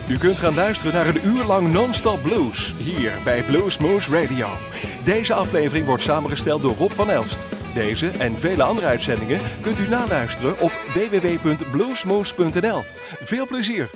U kunt gaan luisteren naar een uur lang non-stop blues, hier bij Bluesmoose Radio. Deze aflevering wordt samengesteld door Rob van Elst. Deze en vele andere uitzendingen kunt u naluisteren op www.bluesmoose.nl. Veel plezier!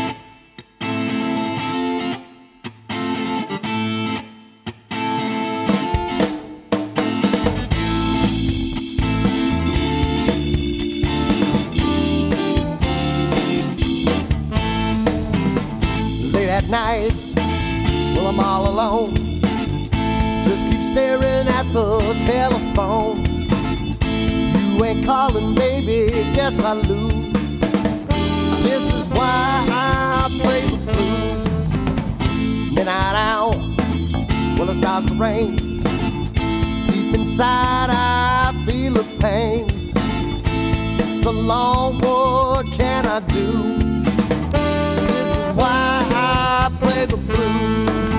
At night, well, I'm all alone. Just keep staring at the telephone. You ain't calling, baby, guess I lose. This is why I play the blues. Midnight hour, well, it starts to rain. Deep inside, I feel the pain. So long, what can I do? This is why I play the blues.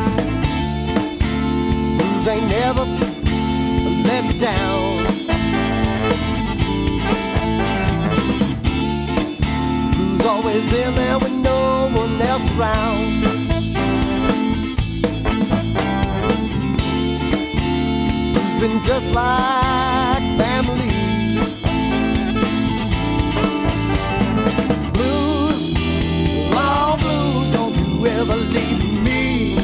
Blues ain't never let me down. Blues always been there when no one else around. Blues been just like family. Blues, all blues, don't you ever leave me.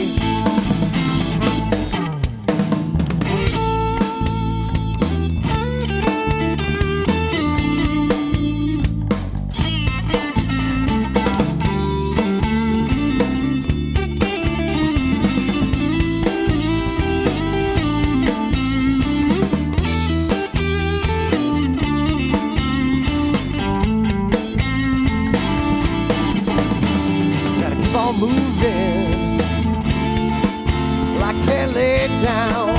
Moving, well, I can't lay down.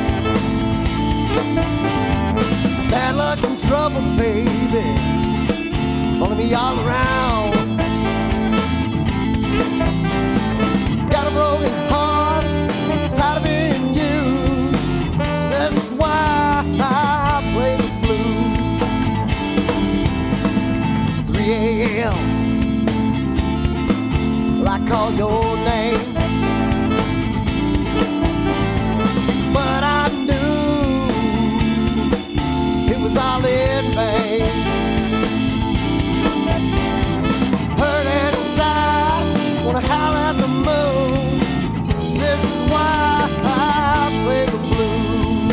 Bad luck and trouble, baby, following me all around. Got a broken heart, tired of being used. This is why I play the blues. It's 3 a.m. I call your name, but I knew it was all in vain. Hurt inside, wanna howl at the moon. This is why I play the blues.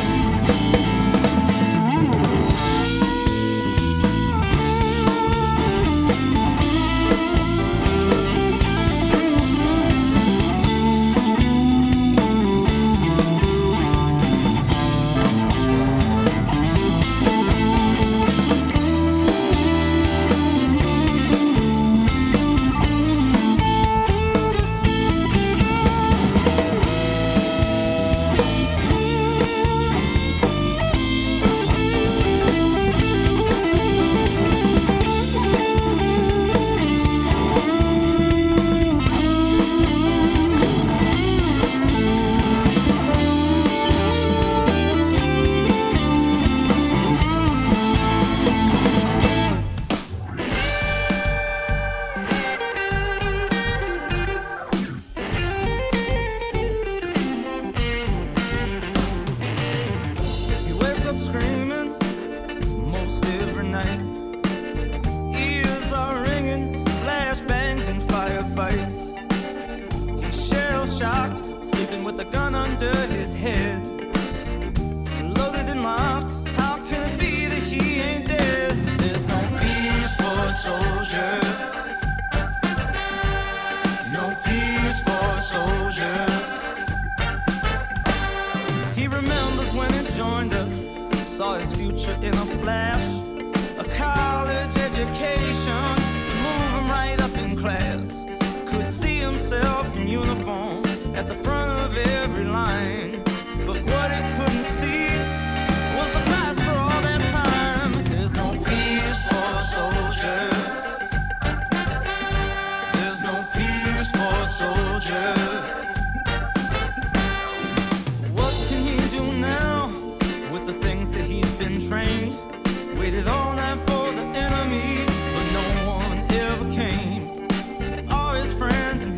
Waited all night for the enemy, but no one ever came. All his friends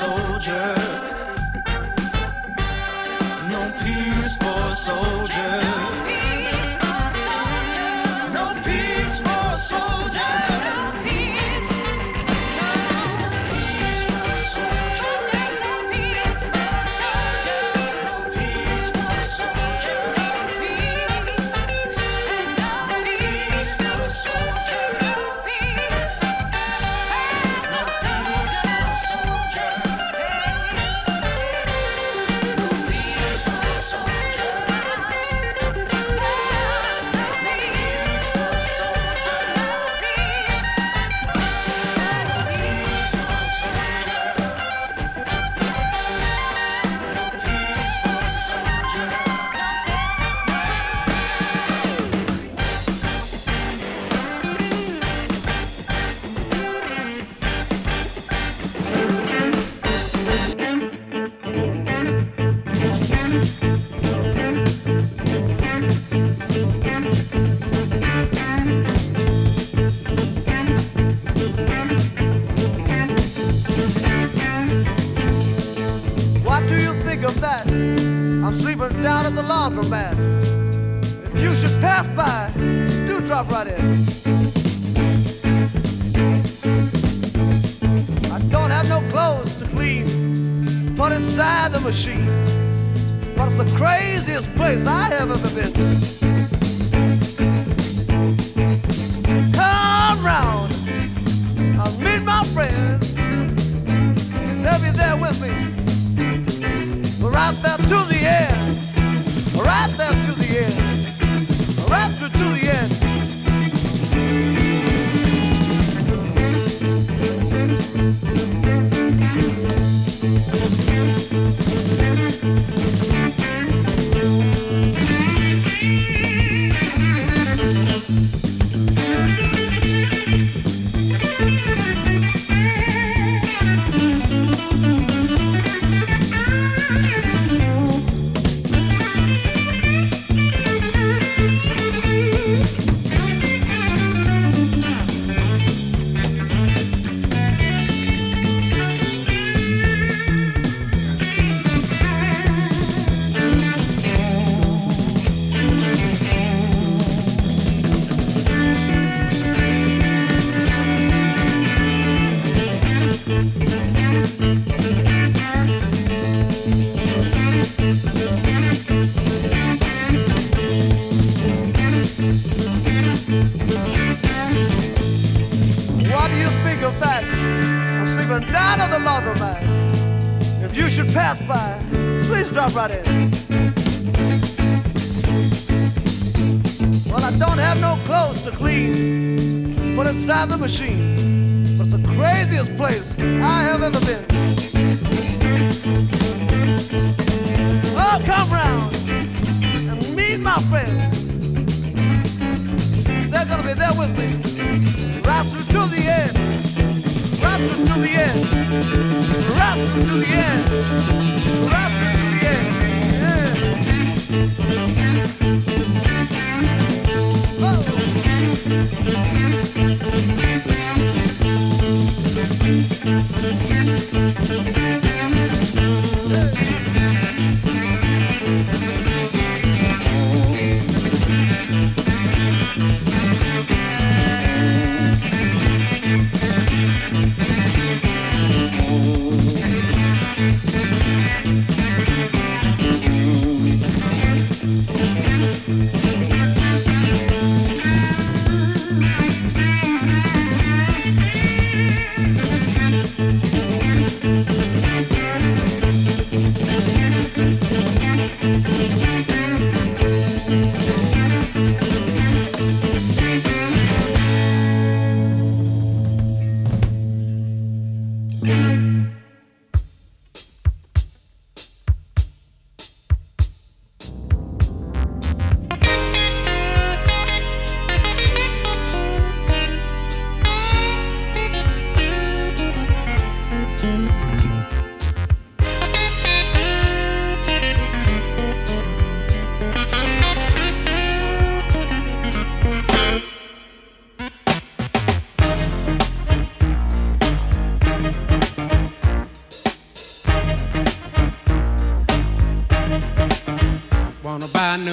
soldier. No peace for soldier. Down at the laundromat. If you should pass by, do drop right in. I don't have no clothes to clean, put inside the machine. But it's the craziest place I have ever been. Come round, I'll meet my friends. They'll be there with me. Right there to the end. Right there to the end. Right through to the end. Down at the laundromat. If you should pass by, please drop right in. Well, I don't have no clothes to clean, put inside the machine. But it's the craziest place I have ever been. Oh, come round and meet my friends. They're gonna be there with me right through to the end. Right through to the end. Right through to the end. Right through to the end.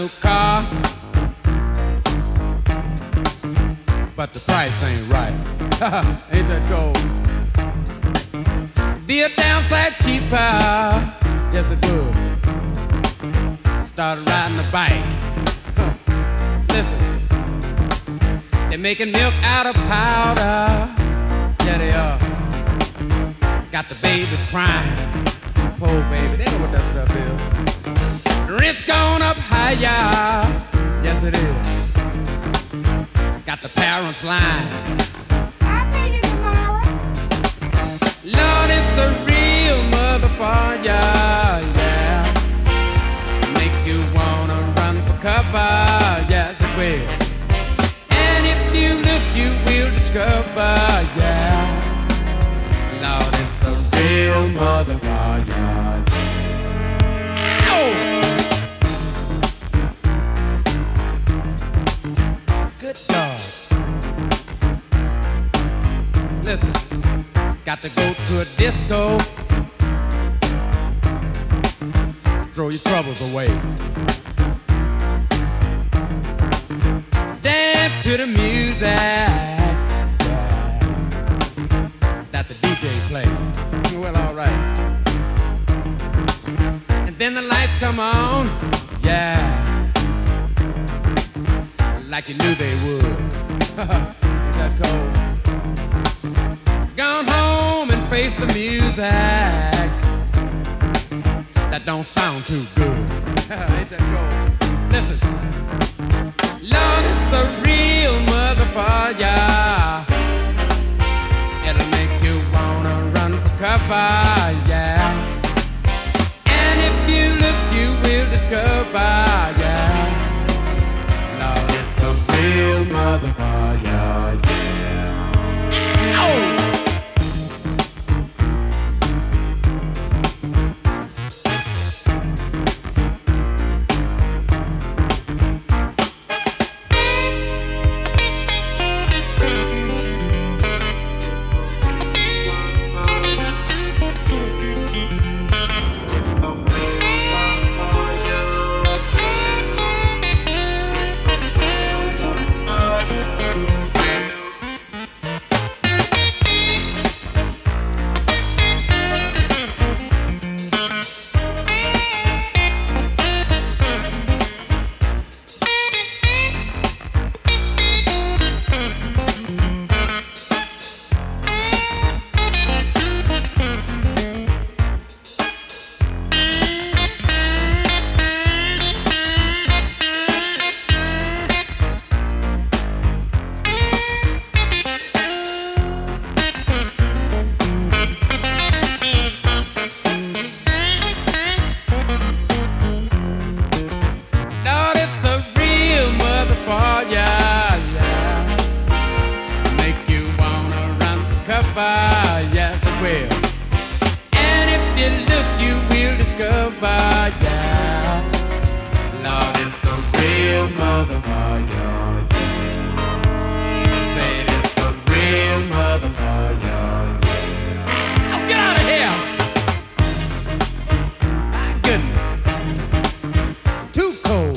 new car, but the price ain't right. Ain't that cold? Be a damn sight cheaper. Yes, it would. Started riding a bike. Listen, they're making milk out of powder. Yeah, they are. Got the babies crying. Poor baby, they know what that stuff is. Rent's gone up higher. Yes, it is. Got the parents lying. I'll pay you tomorrow. Lord, it's a real motherfucker, yeah. Make you wanna run for cover, yes it will. And if you look, you will discover, yeah. Lord, it's a real motherfucker. Oh! Good God. Listen, got to go to a disco. Throw your troubles away. Dance to the music, yeah, that the DJ plays. Well, all right. And then the lights come on, yeah, like you knew they would. Ain't that cold? Gone home and face the music that don't sound too good. Ain't that cold? Listen, Lord, it's a real motherfucker. It'll make you wanna run for cover, yeah. And if you look, you will discover, yeah. Lord, it's a real motherfucker, yeah. Oh! Yes, it will. And if you look, you will discover, yeah. Lord, it's a real motherfucker. Say it's a real motherfucker. Oh, get out of here! My goodness. Too cold.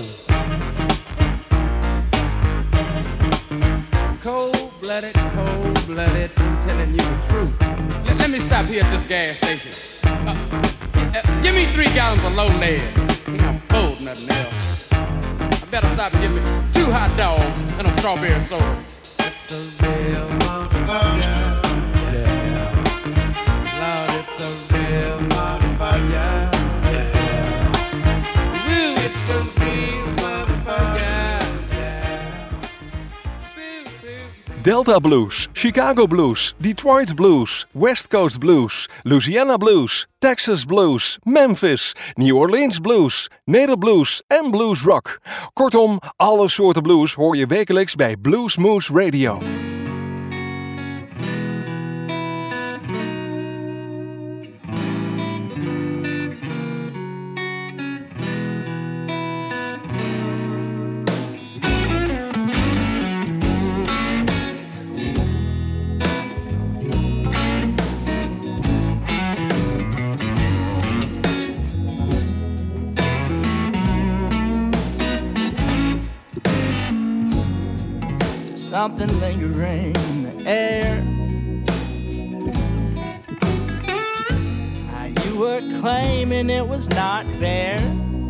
Cold-blooded, cold-blooded. I'm telling you the truth. Let me stop here at this gas station. Give me 3 gallons of low lead. Ain't no food, nothing else. I better stop and get me 2 hot dogs and a strawberry soda. It's a real motherfucker. Yeah. Lord, it's a real motherfucker. Yeah. Ooh, it's a real motherfucker. Delta Blues, Chicago Blues, Detroit Blues, West Coast Blues, Louisiana Blues, Texas Blues, Memphis, New Orleans Blues, Nederblues en Blues Rock. Kortom, alle soorten blues hoor je wekelijks bij Blues Moose Radio. something lingering in the air. You were claiming it was not fair.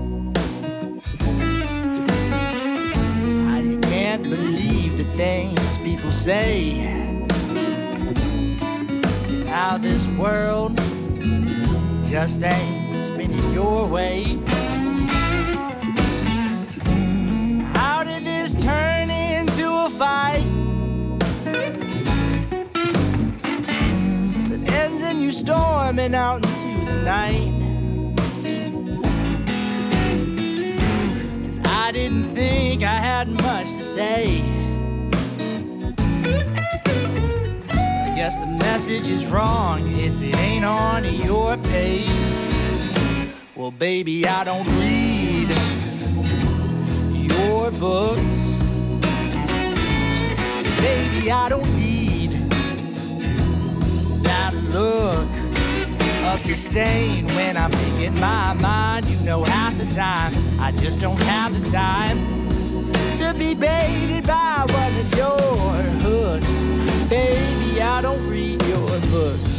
I can't believe the things people say, and how this world just ain't spinning your way. How did this turn into a fight that ends in you storming out into the night? 'Cause I didn't think I had much to say. I guess the message is wrong if it ain't on your page. Well, baby, I don't read your books. Baby, I don't need that look of disdain when I'm making my mind. You know, half the time I just don't have the time to be baited by one of your hooks. Baby, I don't read your books.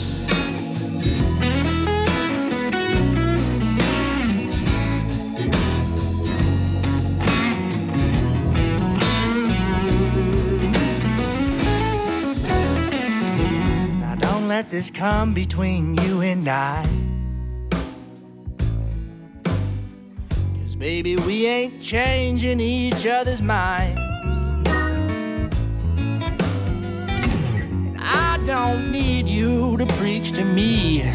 Now don't let this come between you and I, 'cause baby, we ain't changing each other's minds. Don't need you to preach to me,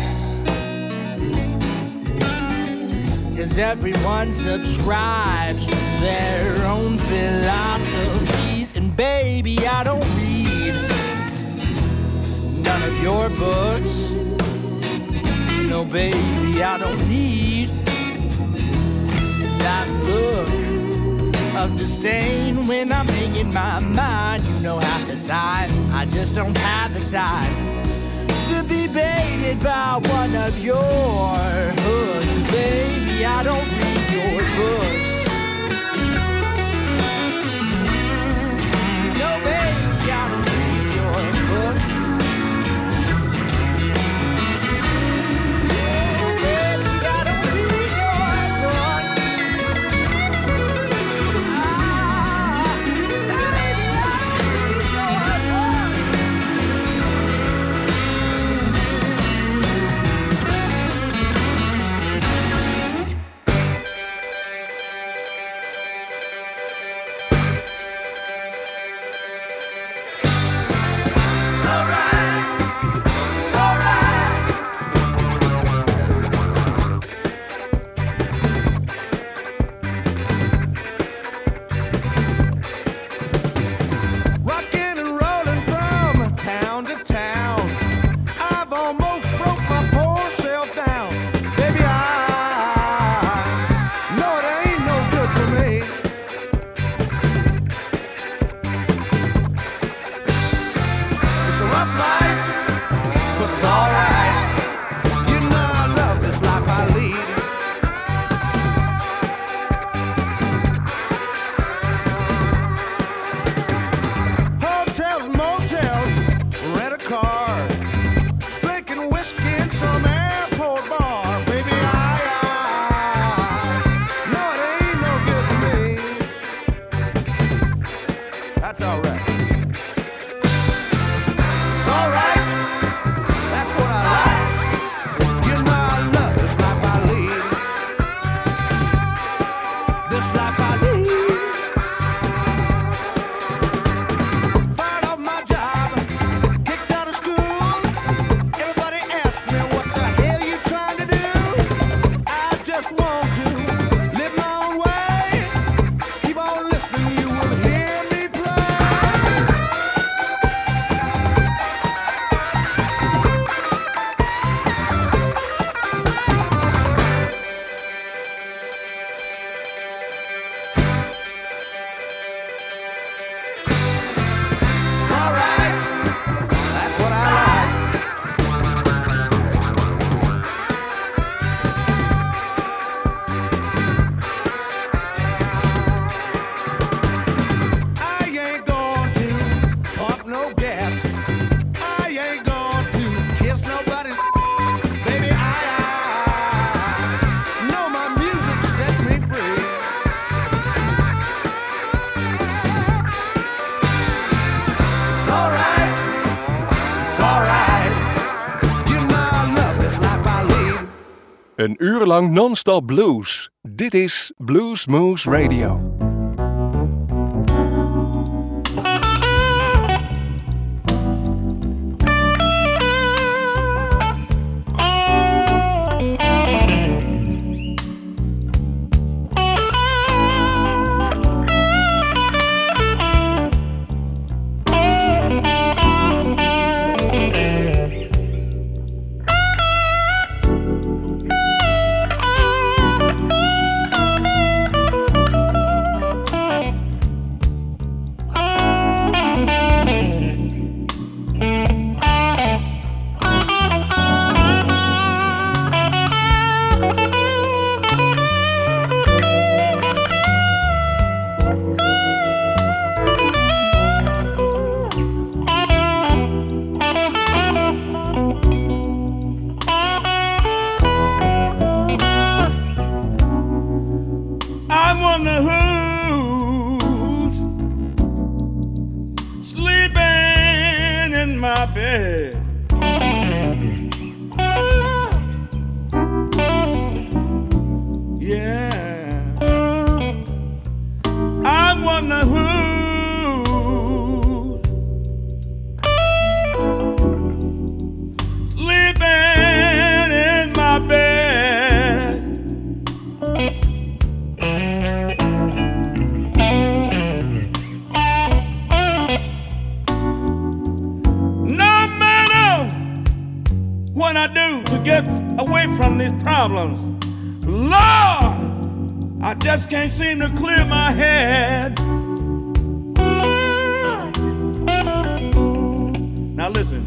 'cause everyone subscribes to their own philosophies. And baby, I don't read none of your books. No, baby, I don't need that look of disdain when I'm making my mind. You know, half the time I just don't have the time to be baited by one of your hooks. Baby, I don't read your books. No, baby, I don't read your books. That's alright. That's what I like. Een uur lang non-stop blues. Dit is Blues Moose Radio. Can't seem to clear my head. Now listen.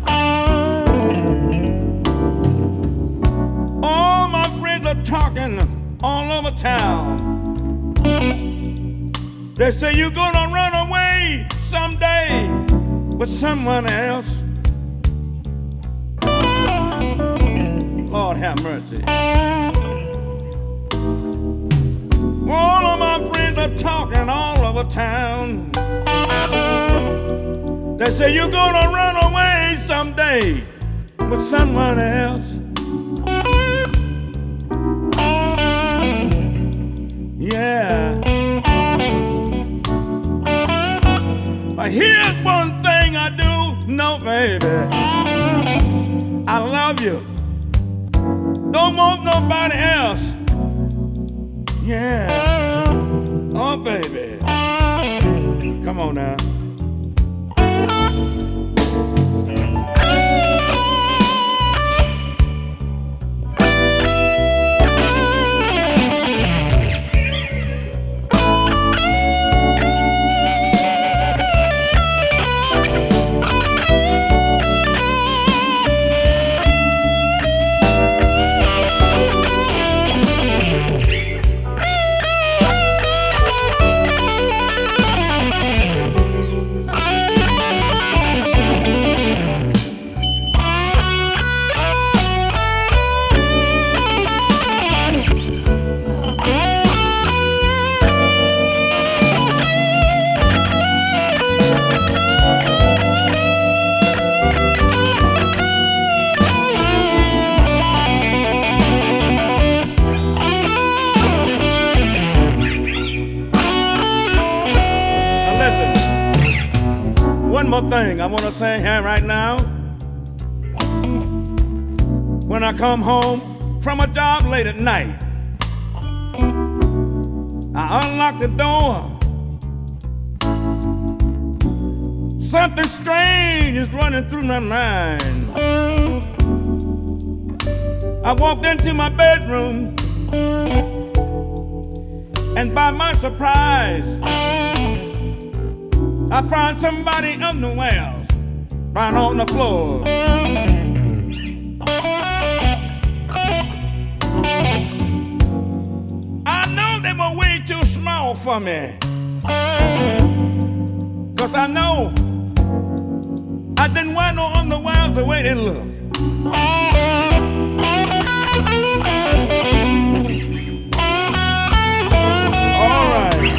All my friends are talking all over town. They say you're gonna run away someday with someone else. Lord have mercy. All of my friends are talking all over town. They say you're gonna run away someday with someone else. Yeah. But here's one thing I do know, baby. I love you. Don't want nobody else. Yeah. Oh, baby. Come on now. Thing I want to say here right now. When I come home from a job late at night, I unlock the door. Something strange is running through my mind. I walked into my bedroom, and by my surprise, I found somebody underwears right on the floor. I know they were way too small for me, 'cause I know I didn't wear no underwear the way they look. All right.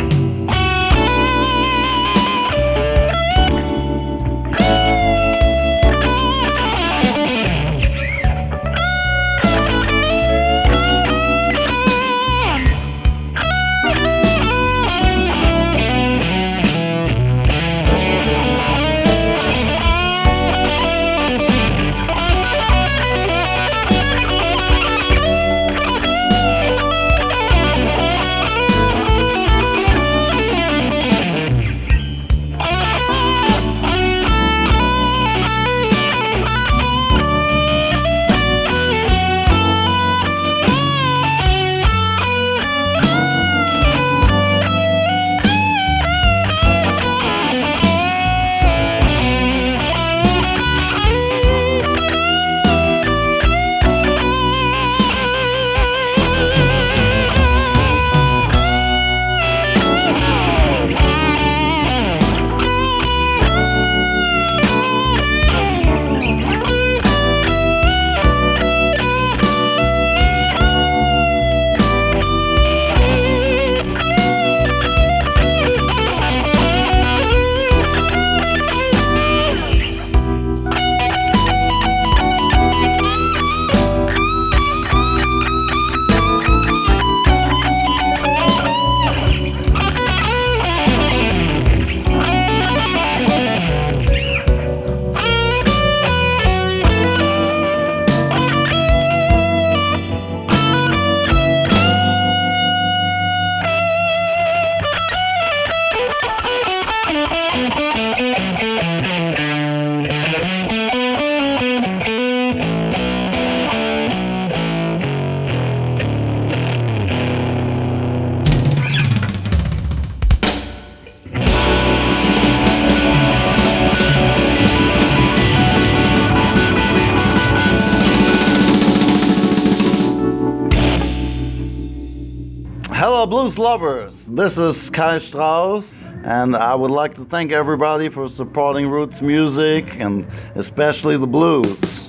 Hello, blues lovers. This is Kai Strauss, and I would like to thank everybody for supporting roots music, and especially the blues.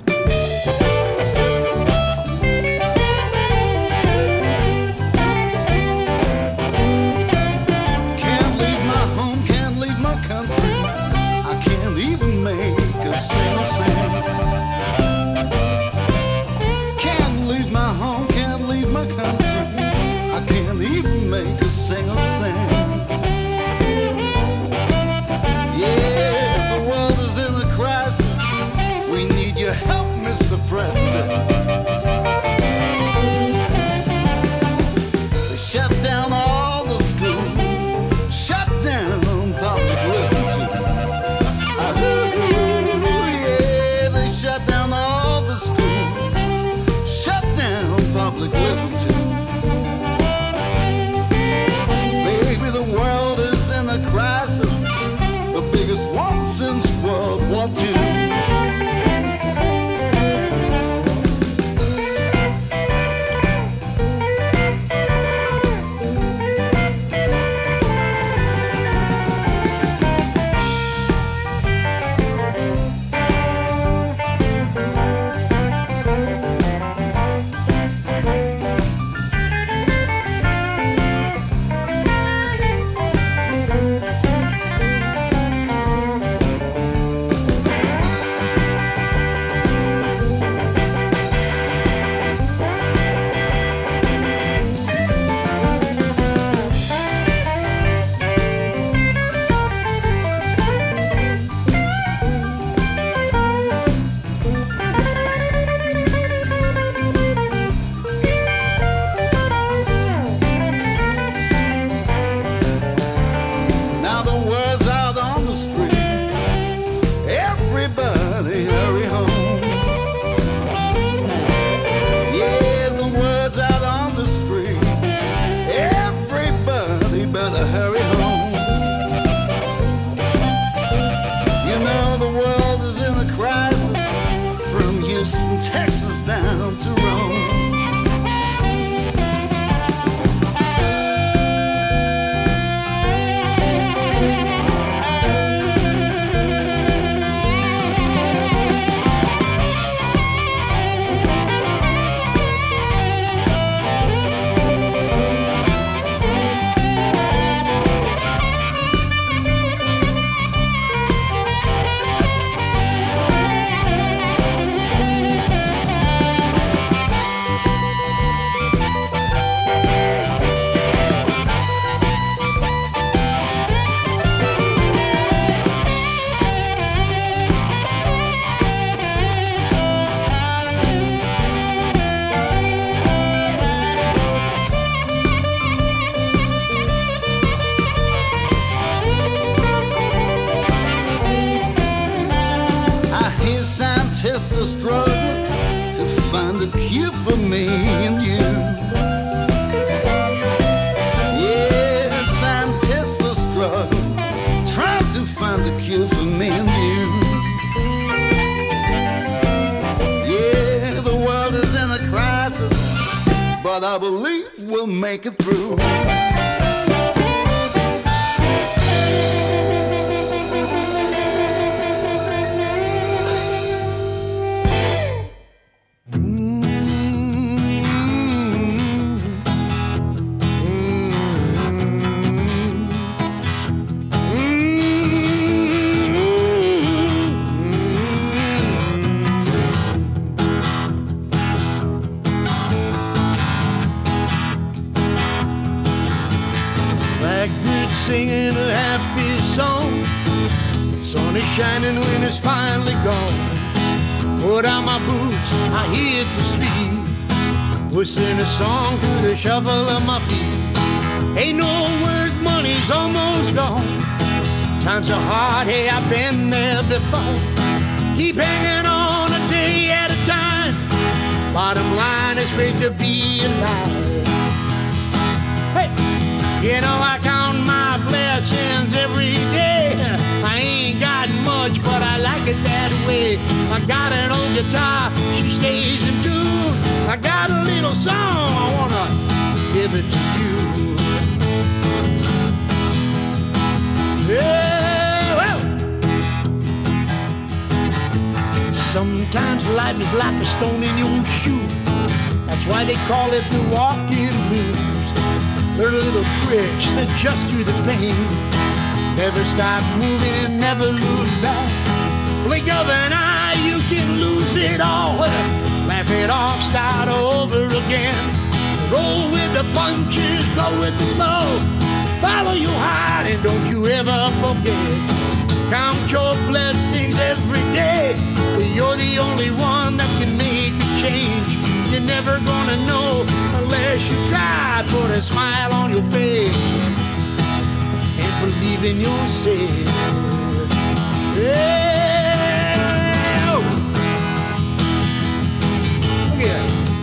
I believe we'll make it through. Singing a happy song. Sun is shining when it's finally gone. Put on my boots, I hit the street, whistling a song to the shuffle of my feet. Ain't no work, money's almost gone. Times are hard, hey, I've been there before. Keep hanging on a day at a time. Bottom line, it's great to be alive. Hey, you know I count my blessings every day. I ain't got much, but I like it that way. I got an old guitar, she stays in tune. I got a little song, I wanna give it to you. Sometimes life is like a stone in your shoe. That's why they call it the walking blues. They're little tricks that adjust you the pain. Never stop moving, never lose back. Blink of an eye, you can lose it all. Laugh it off, start over again. Roll with the punches, go with the flow. Follow your heart and don't you ever forget. Count your blessings every day. You're the only one that can make a change. You're never gonna know unless you try. Put a smile on your face and believe in yourself. Yeah. Yeah.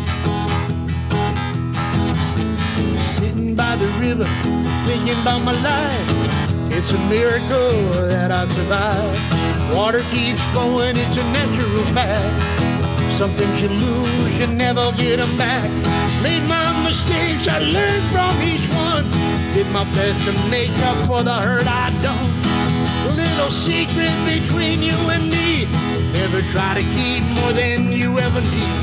Sitting by the river, thinking about my life. It's a miracle that I survived. Water keeps flowing, it's a natural fact. Some things you lose, you never get them back. Made my mistakes, I learned from each one. Did my best to make up for the hurt I done. A little secret between you and me. Never try to keep more than you ever need.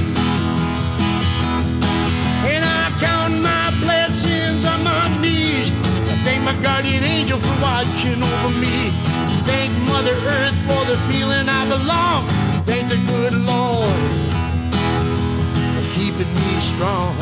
And I count my blessings on my knees. I thank my guardian angel for watching over me. Thank Mother Earth for the feeling I belong. Thank the good Lord for keeping me strong.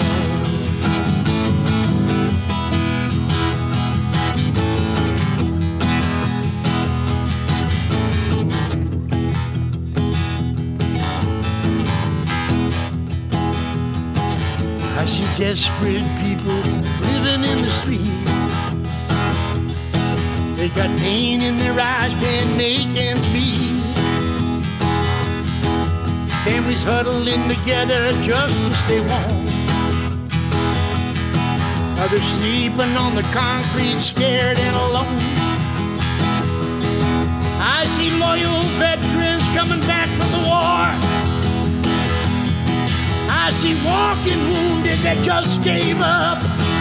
I see desperate people living in the street. They got pain in their eyes, can't make ends meet. Families huddling together just to stay warm. Others sleeping on the concrete, scared and alone. I see loyal veterans coming back from the war. I see walking wounded that just gave up.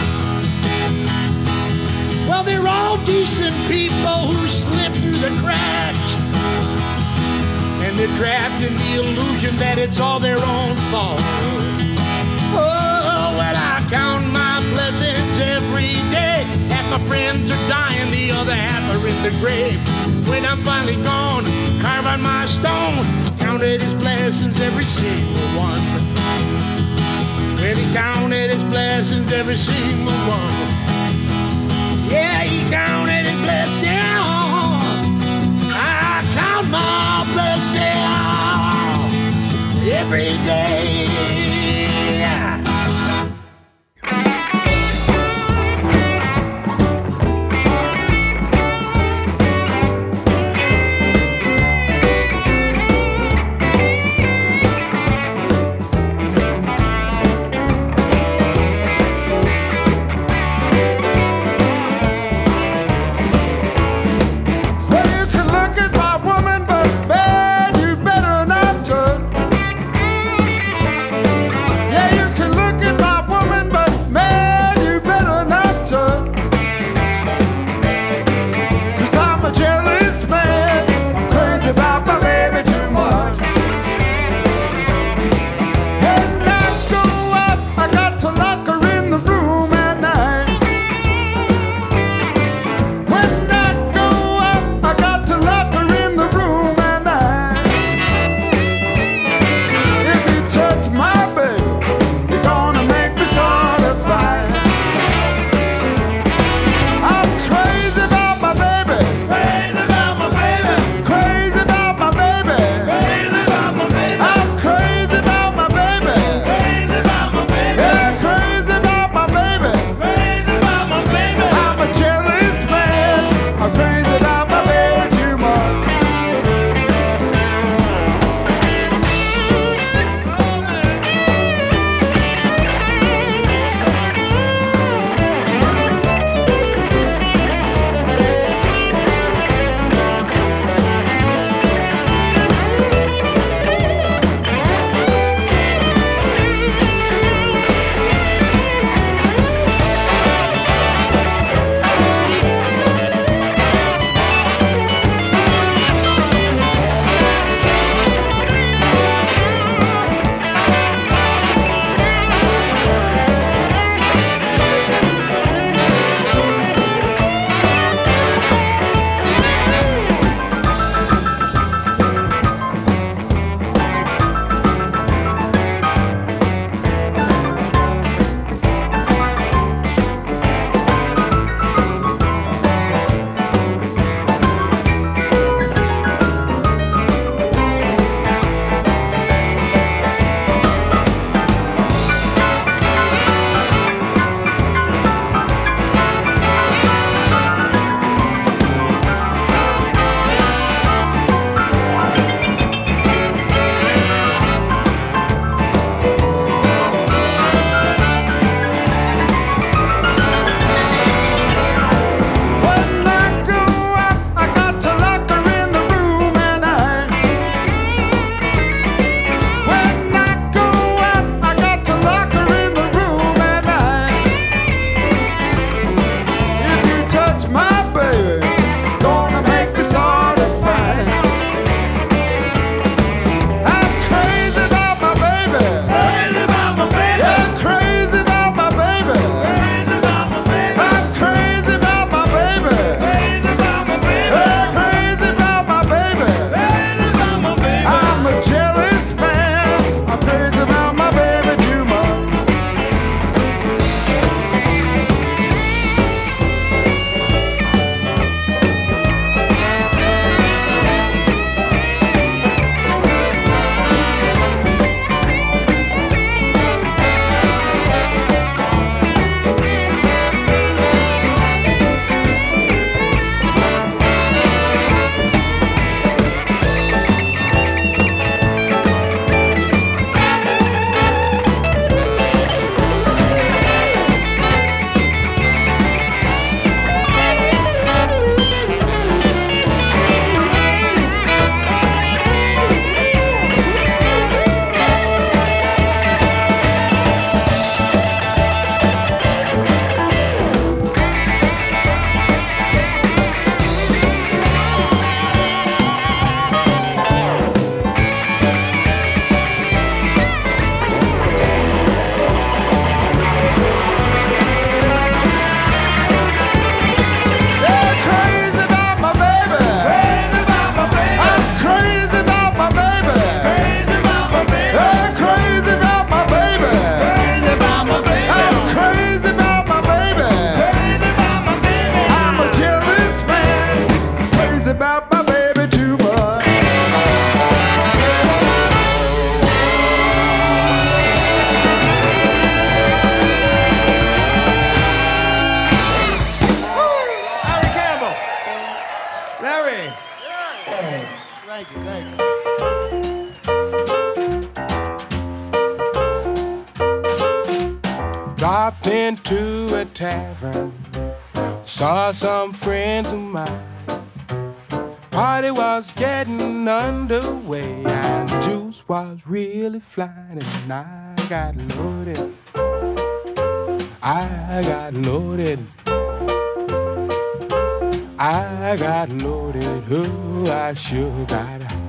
Well, they're all decent people who slip through the cracks. And they're trapped in the illusion that it's all their own fault. Oh, well, I count my blessings every day. Half my friends are dying, the other half are in the grave. When I'm finally gone, carve on my stone. Counted his blessings, every single one. When he counted his blessings, every single one. Yeah, he counted his blessings. I count my blessings every day. Dropped into a tavern, saw some friends of mine. Party was getting underway and juice was really flying, and I got loaded. I got loaded. I got loaded. Oh, I sure got high.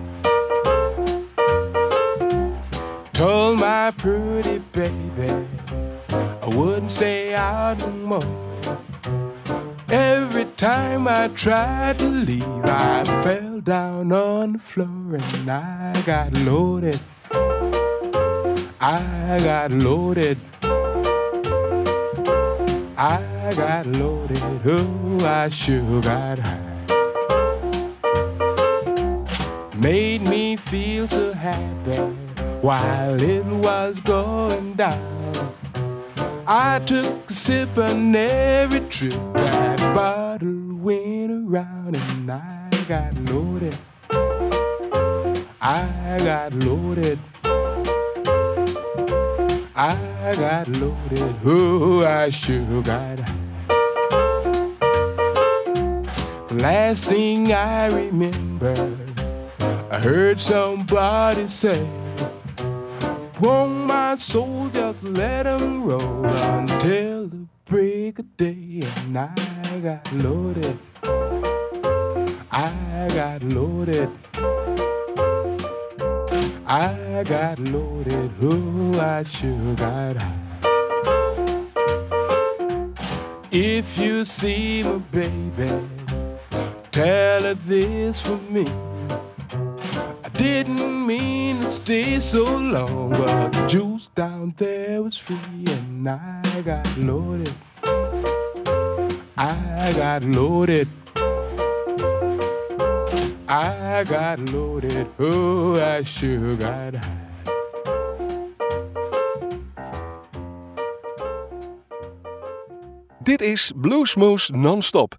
Told my pretty baby I wouldn't stay out no more. Every time I tried to leave, I fell down on the floor, and I got loaded. I got loaded. I got loaded. Oh, I sure got high. Made me feel so happy while it was going down. I took a sip on every trip that bottle went around, and I got loaded. I got loaded. I got loaded. Oh, I sure got high. Last thing I remember, I heard somebody say, won't my soul just let him roll until the break of day? And I got loaded. I got loaded. I got loaded. Oh, I sure got high. If you see my baby, tell her this for me. I didn't mean to stay so long, but the juice down there was free, and I got loaded. I got loaded. I got loaded. Oh, I sure got high. Dit is Bluesmoose Non-Stop.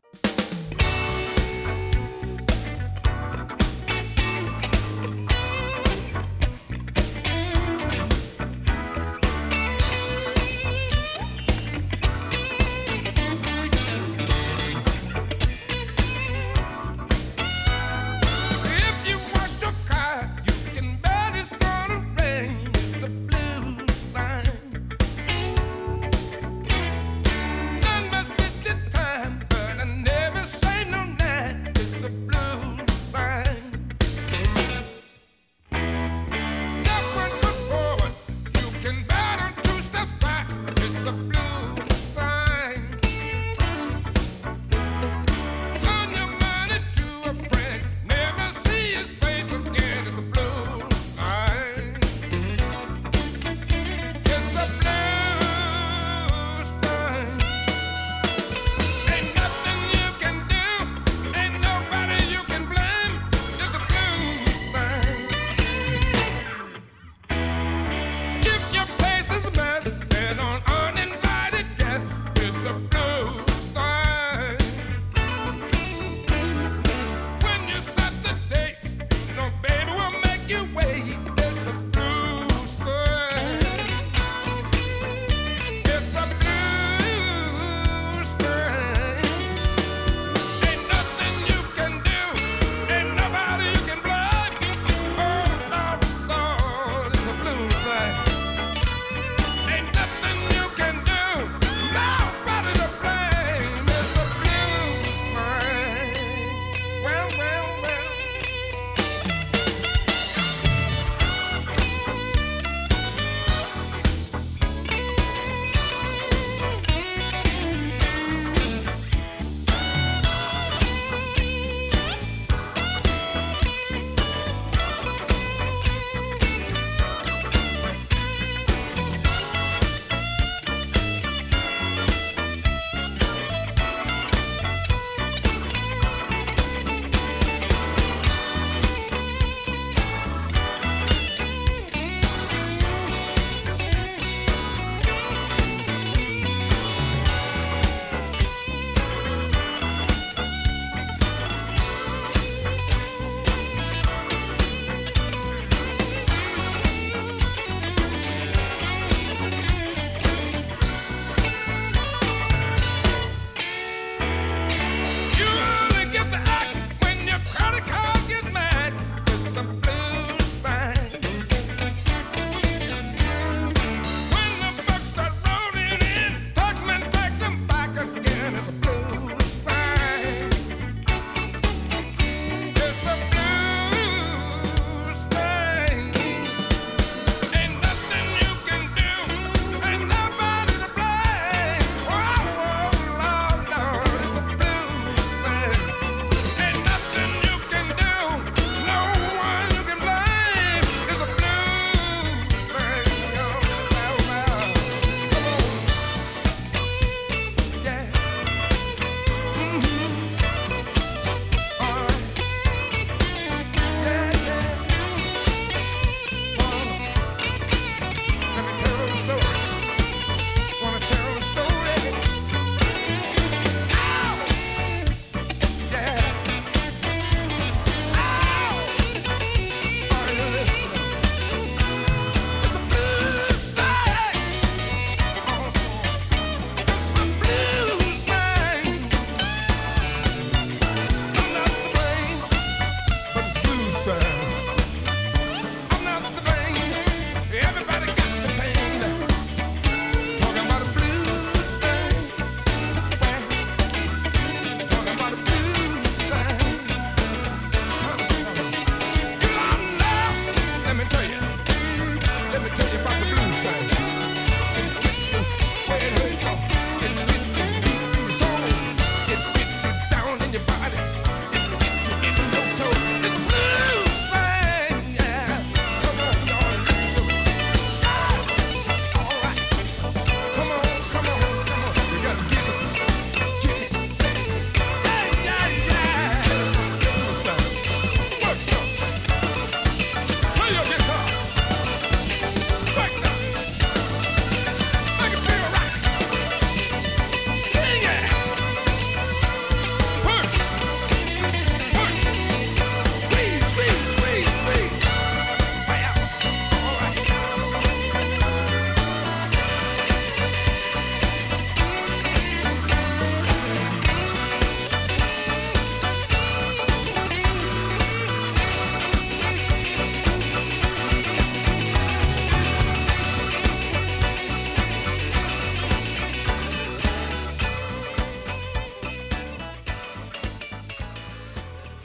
None must get the time, but I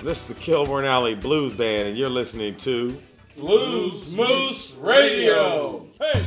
This is the Kilburn Alley Blues Band, and you're listening to Blues Moose Radio. Hey!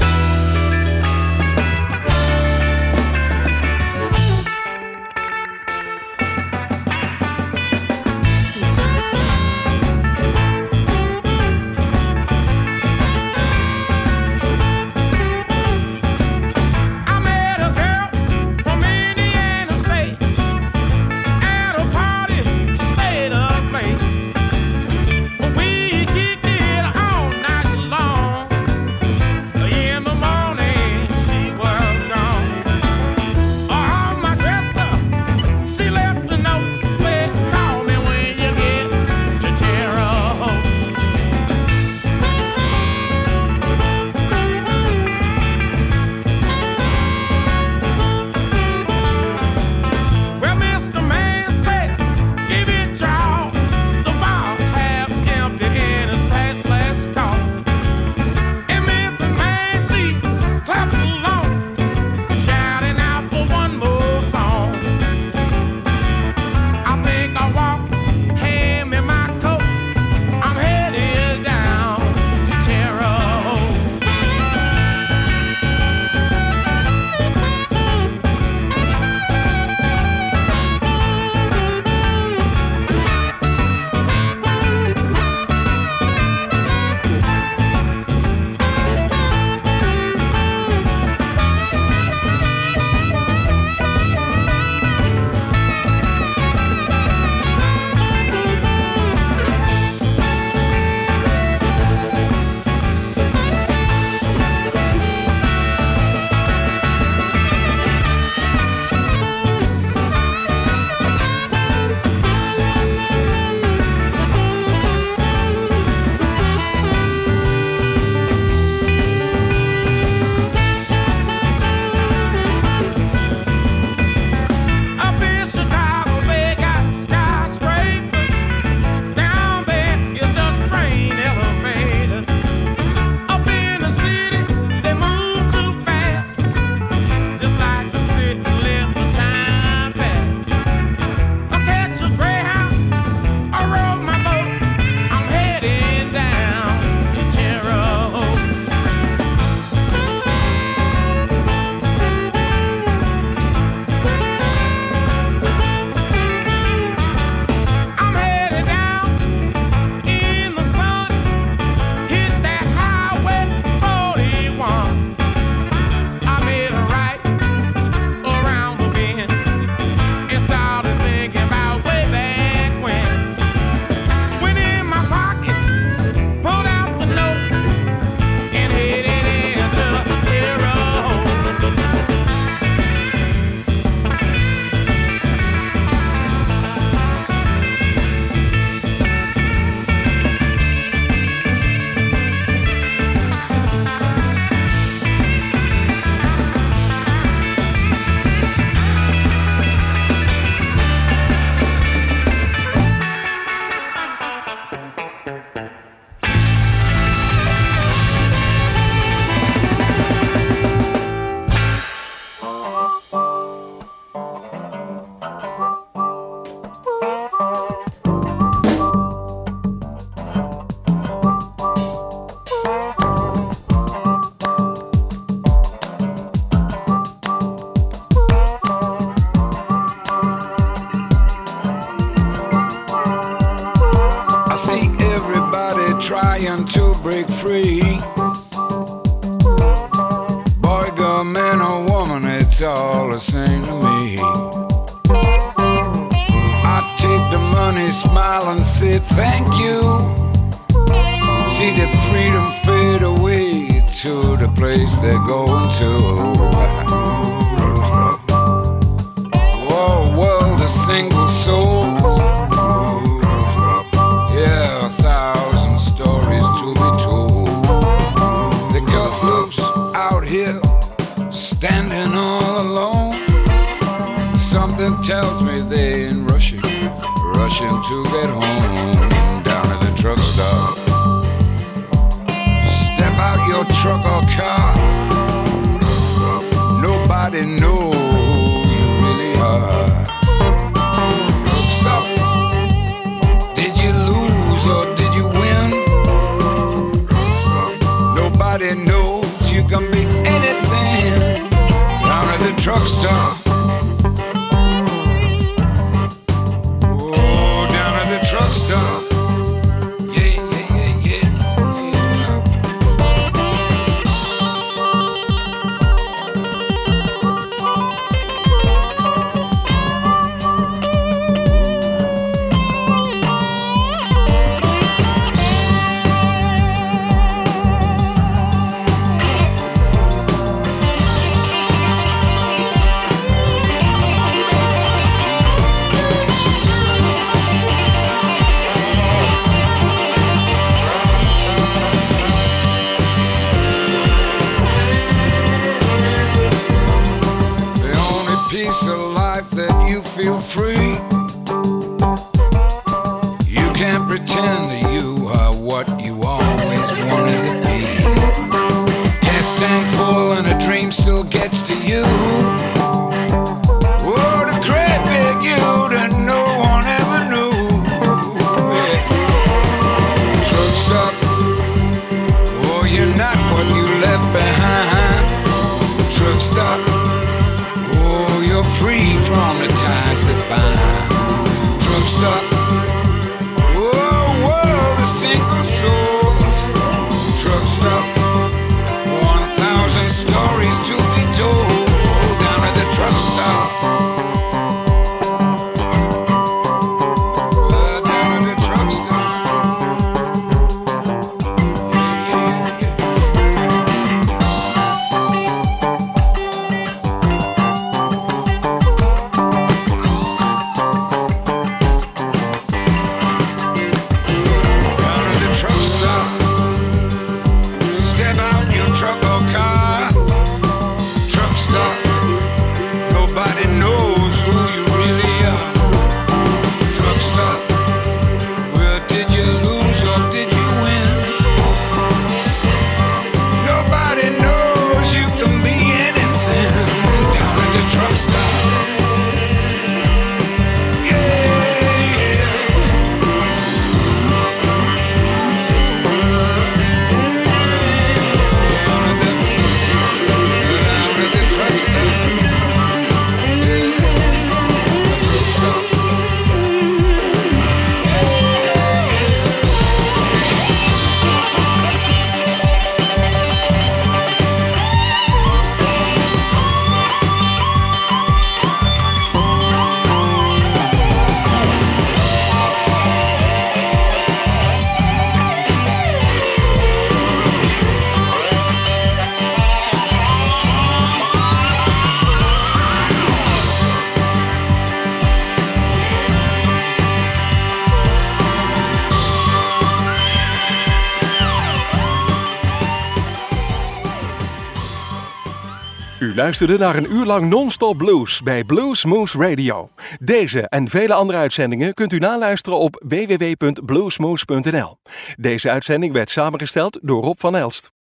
trying to break free. Boy, girl, man or woman, it's all the same to me. I take the money, smile and say thank you. See the freedom fade away to the place they're going to. Whoa, world of single souls. Yeah, 1,000 stories to be told. They got loose out here, standing all alone. Something tells me they ain't rushing to get home. Down at the truck stop, step out your truck or car. Nobody knows who you really are. Truck stop, pace of life that you feel free. You can't pretend that you are what you always wanted to be. Gas tank full and a dream still gets to you. Oh, the great big you that no one ever knew. Yeah. Truck stop. Oh, you're not what you left behind. Truck stop. Oh, you're free from the ties that bind. Truck stop. Oh, world of single souls. Truck stop. 1,000 stories to be told down at the truck stop. Down at the truck stop. U luisterde naar een uur lang non-stop blues bij Blues Moose Radio. Deze en vele andere uitzendingen kunt u naluisteren op www.bluesmoose.nl. Deze uitzending werd samengesteld door Rob van Elst.